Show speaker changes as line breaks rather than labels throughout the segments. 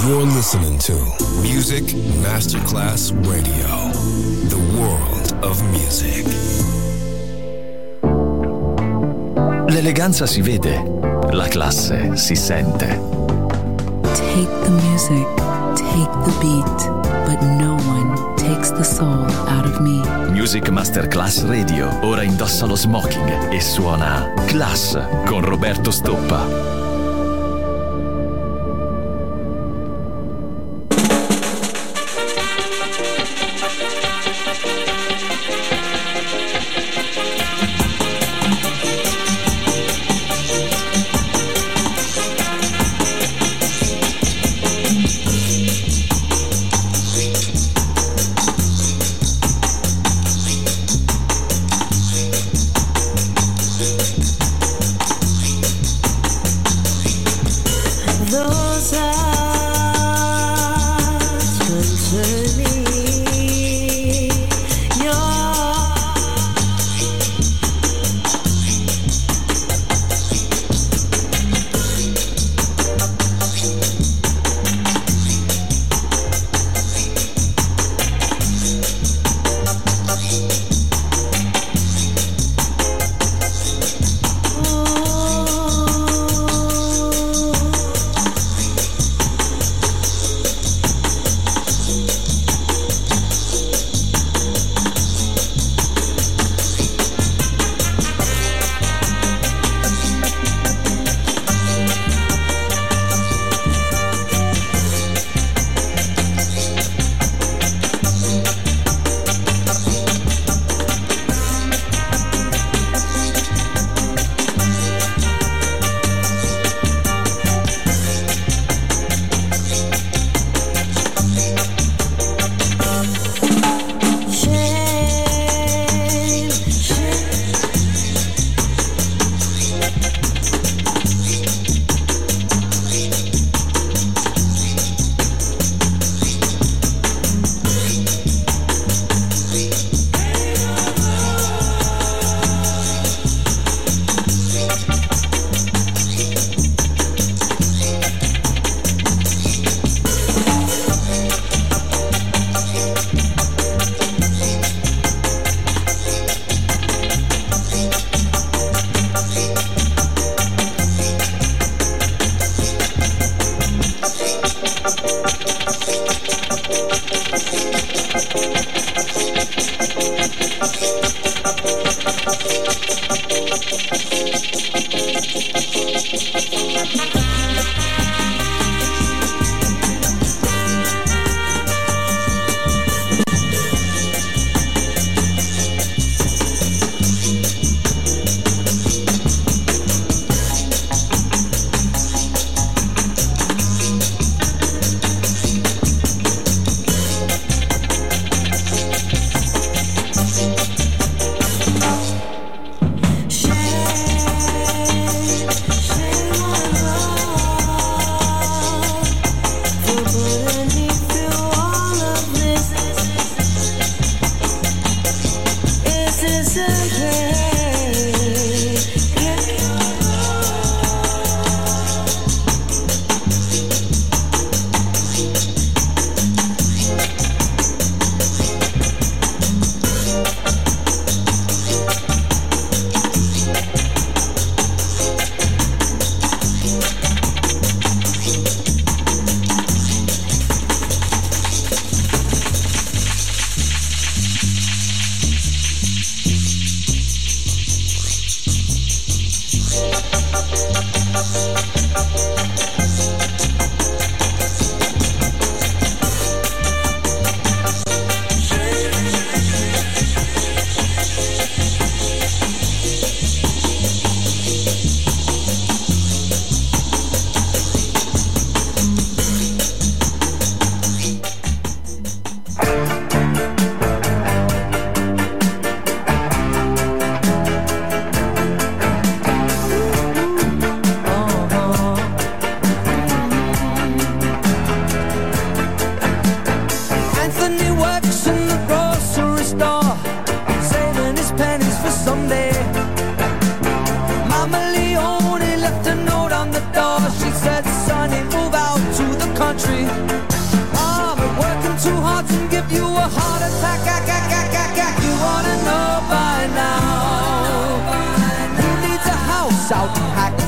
You're listening to Music Masterclass Radio, the world of music.
L'eleganza si vede, la classe si sente.
Take the music, take the beat, but no one takes the soul out of me.
Music Masterclass Radio ora indossa lo smoking e suona Class con Roberto Stoppa.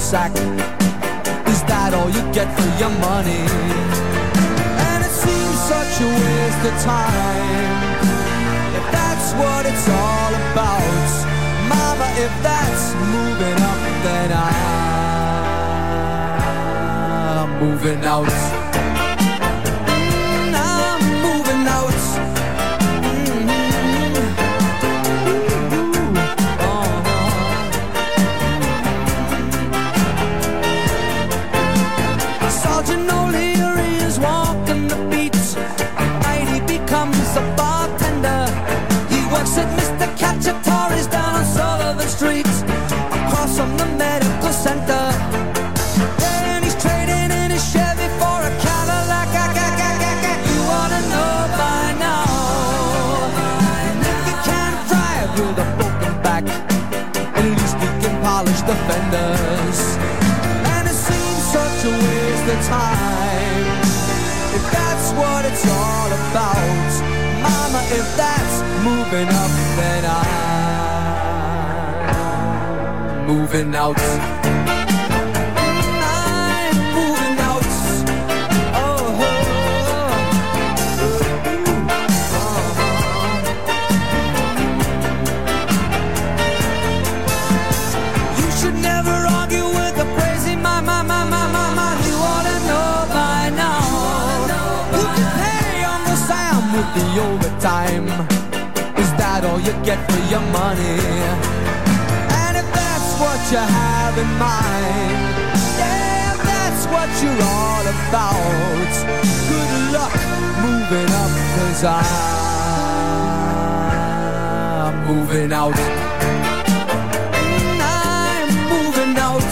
sack. Is that all you get for your money? And it seems such a waste of time. If that's what it's all about, mama, if that's moving up, then I'm moving out. I'm moving out. Sergeant O'Leary is walking the beat. Night he becomes a bartender. He works at Mr. Cacciatore's down on Sullivan Street, across from the medical center. And he's trading in his Chevy for a Cadillac. You ought to know by now. And if you can't drive with a broken back, at least he can polish the fenders. And it seems such a waste of time. If that's what it's all about, mama, if that's moving up, then I'm moving out. I'm moving out. Oh, you should never argue with a crazy mama. You ought to know by now. You can pay Uncle Sam with the overtime. Is that all you get for your money? And if that's what you have in mind, yeah, if that's what you're all about, good luck moving up, 'cause I'm moving out. I'm moving out.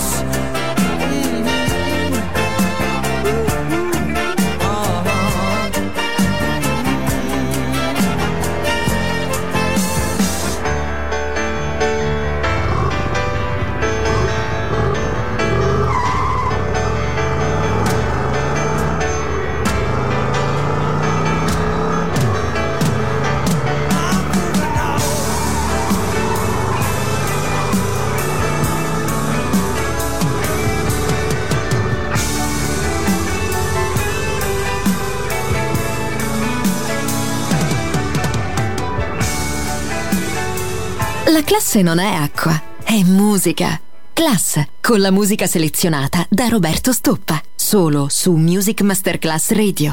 La classe non è acqua, è musica. Class, con la musica selezionata da Roberto Stoppa, solo su Music Masterclass Radio.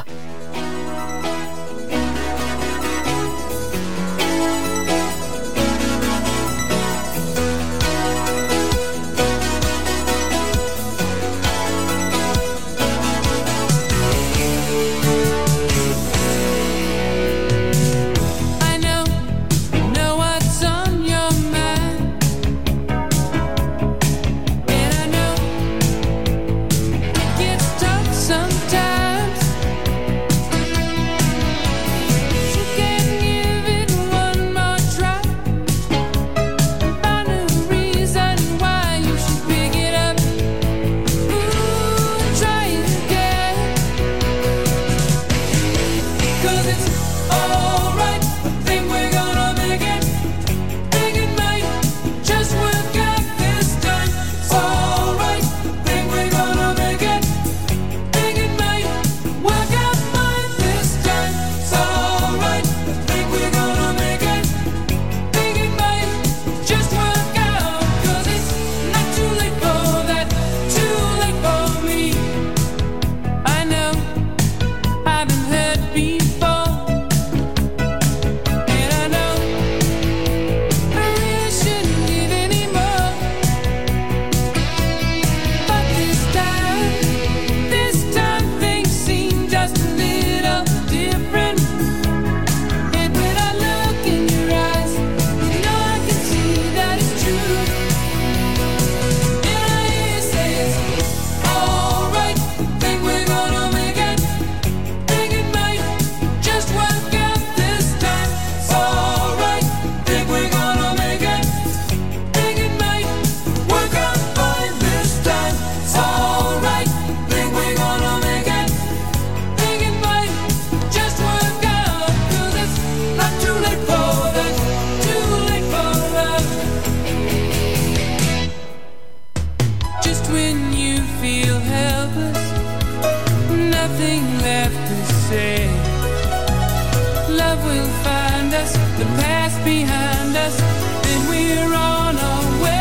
Sometimes us, the past behind us, then we're on our way.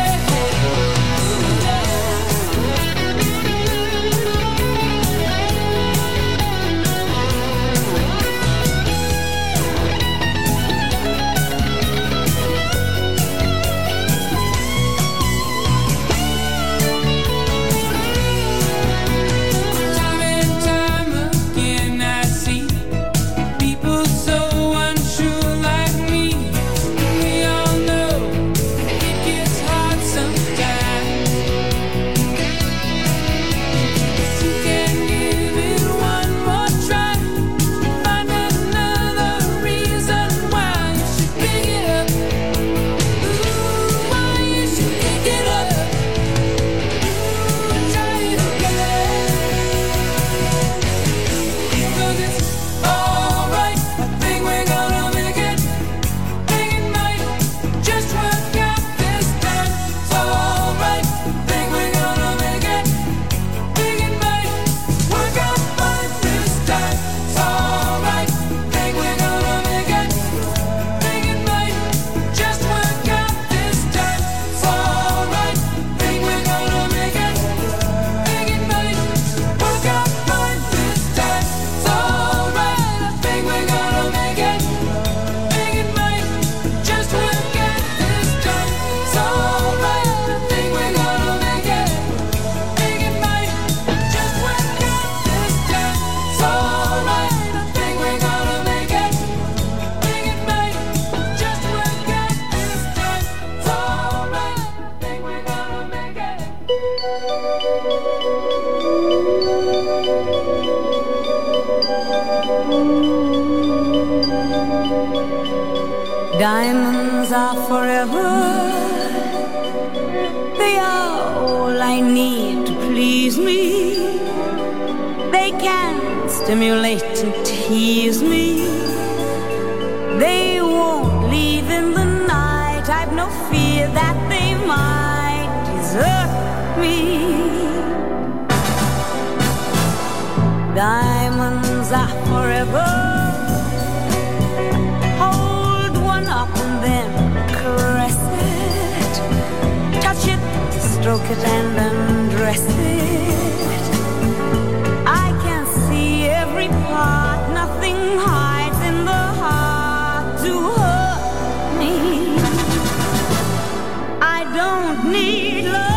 Diamonds are forever. They are all I need to please me. They can stimulate and tease me. They won't leave in the night. I've no fear that they might desert me. Diamonds are forever. And then caress it, touch it, stroke it and undress it. I can see every part, nothing hides in the heart to hurt me. I don't need love,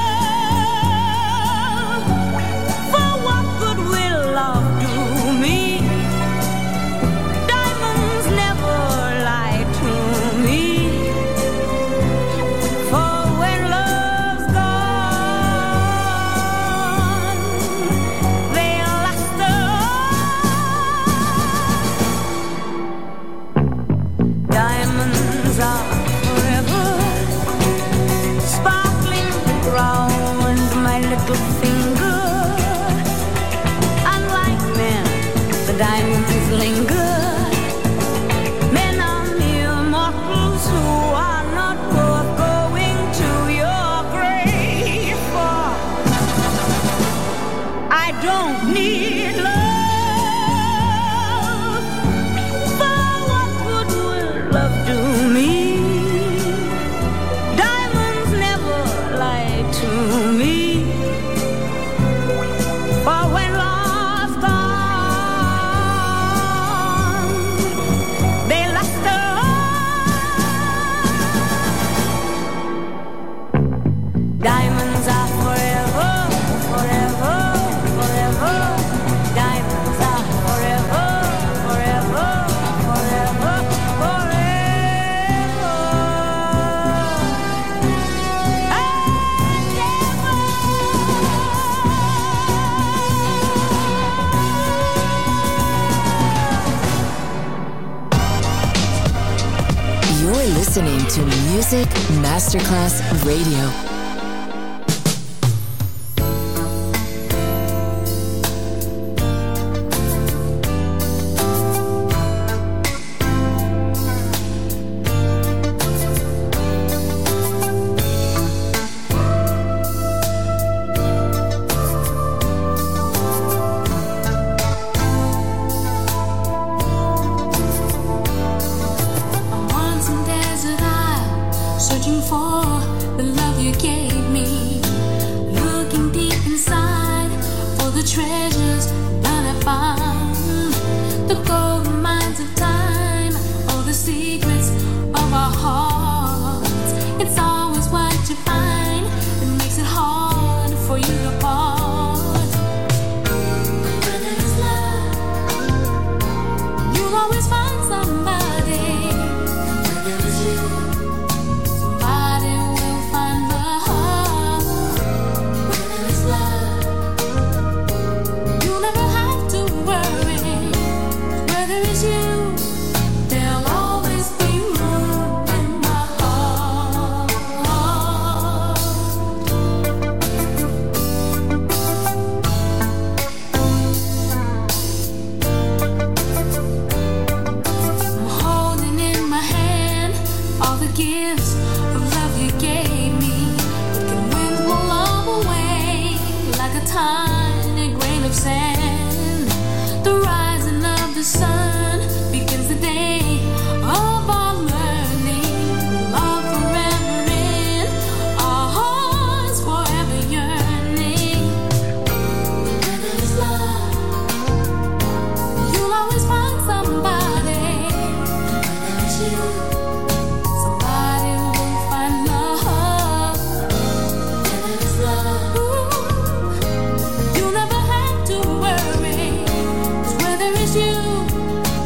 for what good will love do me? Diamonds linger. Men are mere mortals who are not worth going to your grave for. I don't need love, for what good will love do me? Diamonds never lie to me, for when love's gone, diamonds are forever, forever, forever. Diamonds are forever, forever, forever, forever.
You're listening to Music Masterclass Radio.
treasures none have found, the gold mines of time, all the secrets of our hearts. It's always what you find that makes it hard for you to part. Where there is love, you'll always find somebody. Where there is you, somebody will find love. Where there is love, you'll never have to worry. Where there is you, there'll always be room in my heart. I'm holding in my hand all the gifts of love you gave me. The winds will blow away like a tiny grain of sand. The rising of the sun begins the day of our learning. Love forever in our hearts, forever yearning. Where there is love, you'll always find somebody. Where there is you, somebody will find love. Where there is love, you'll never have to worry. 'Cause where there is you,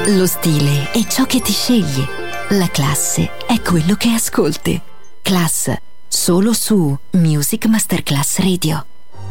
Lo stile è ciò che ti scegli. La classe è quello che ascolti. Class, solo su Music Masterclass Radio.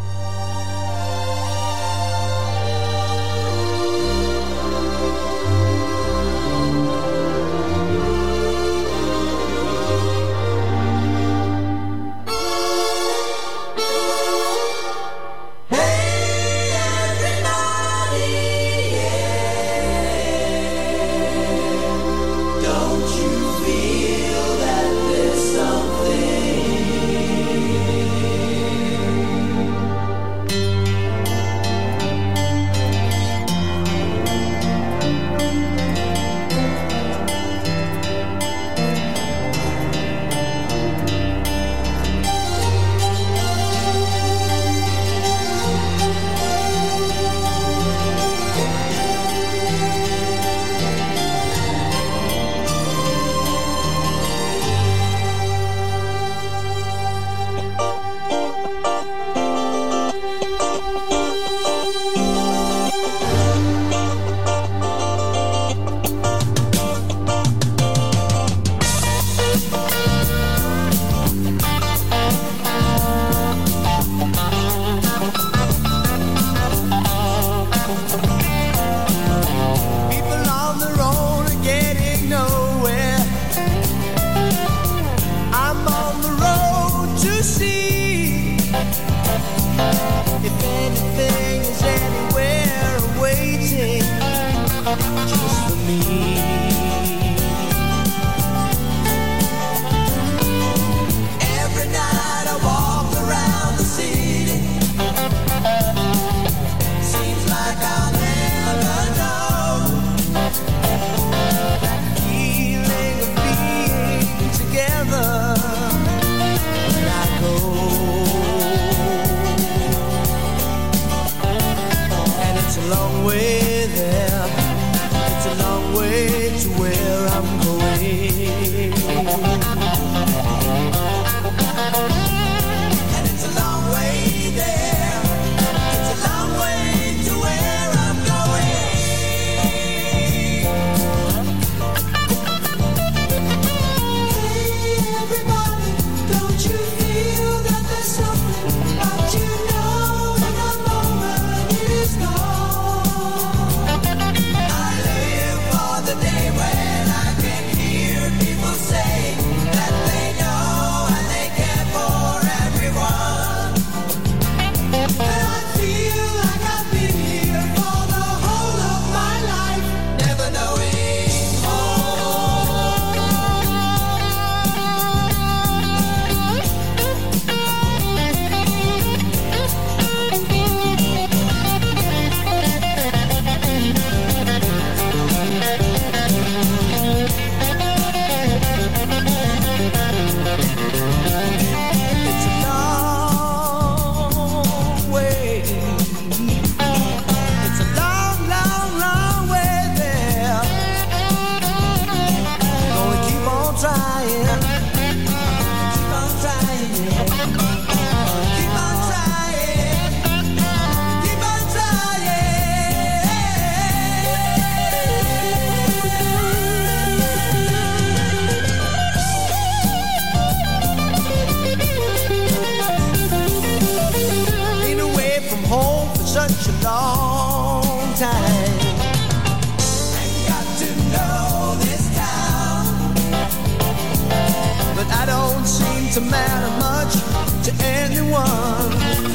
To matter much to anyone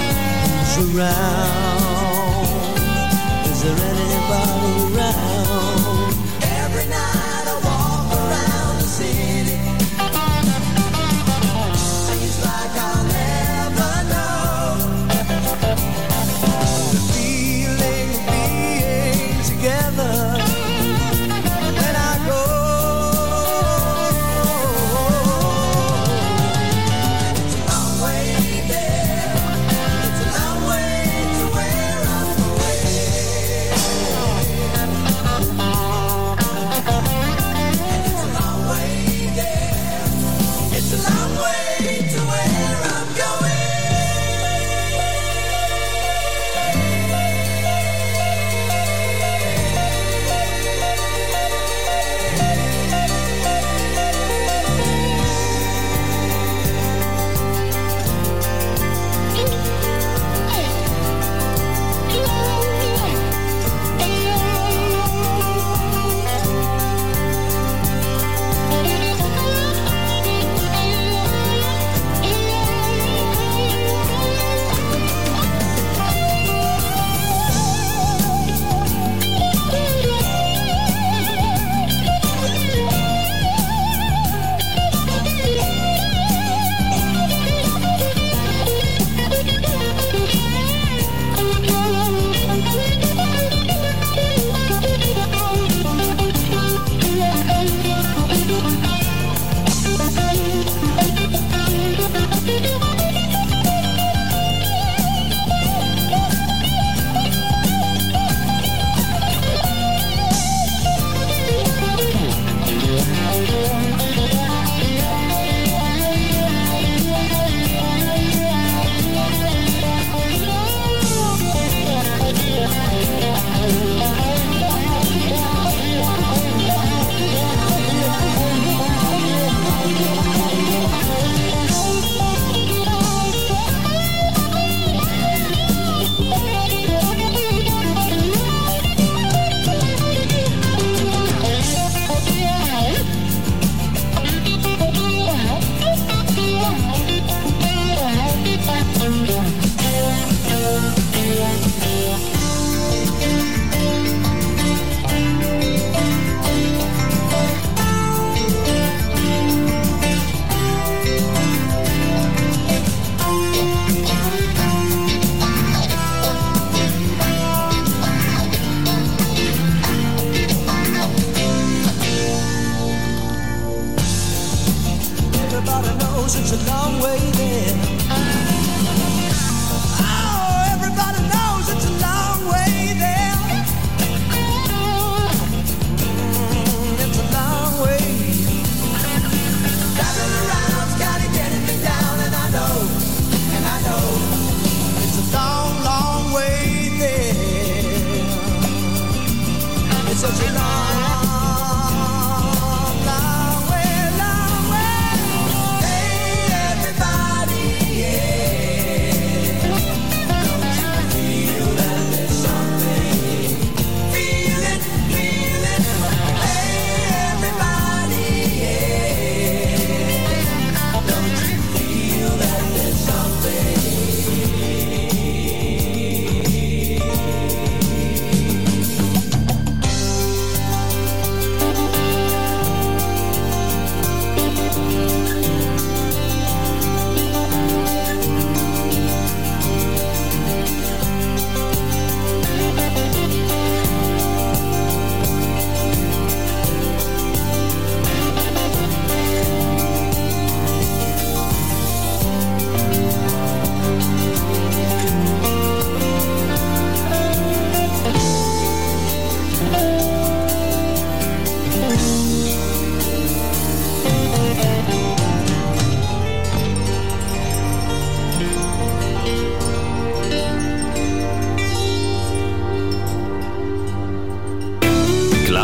who's around. Is there anybody around? Every night I walk around the city. Seems like I'll never know the feeling of being together. When I go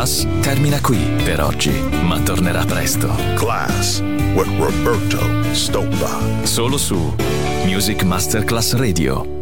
Class termina qui per oggi, ma tornerà presto.
Class with Roberto Stoppa.
Solo su Music Masterclass Radio.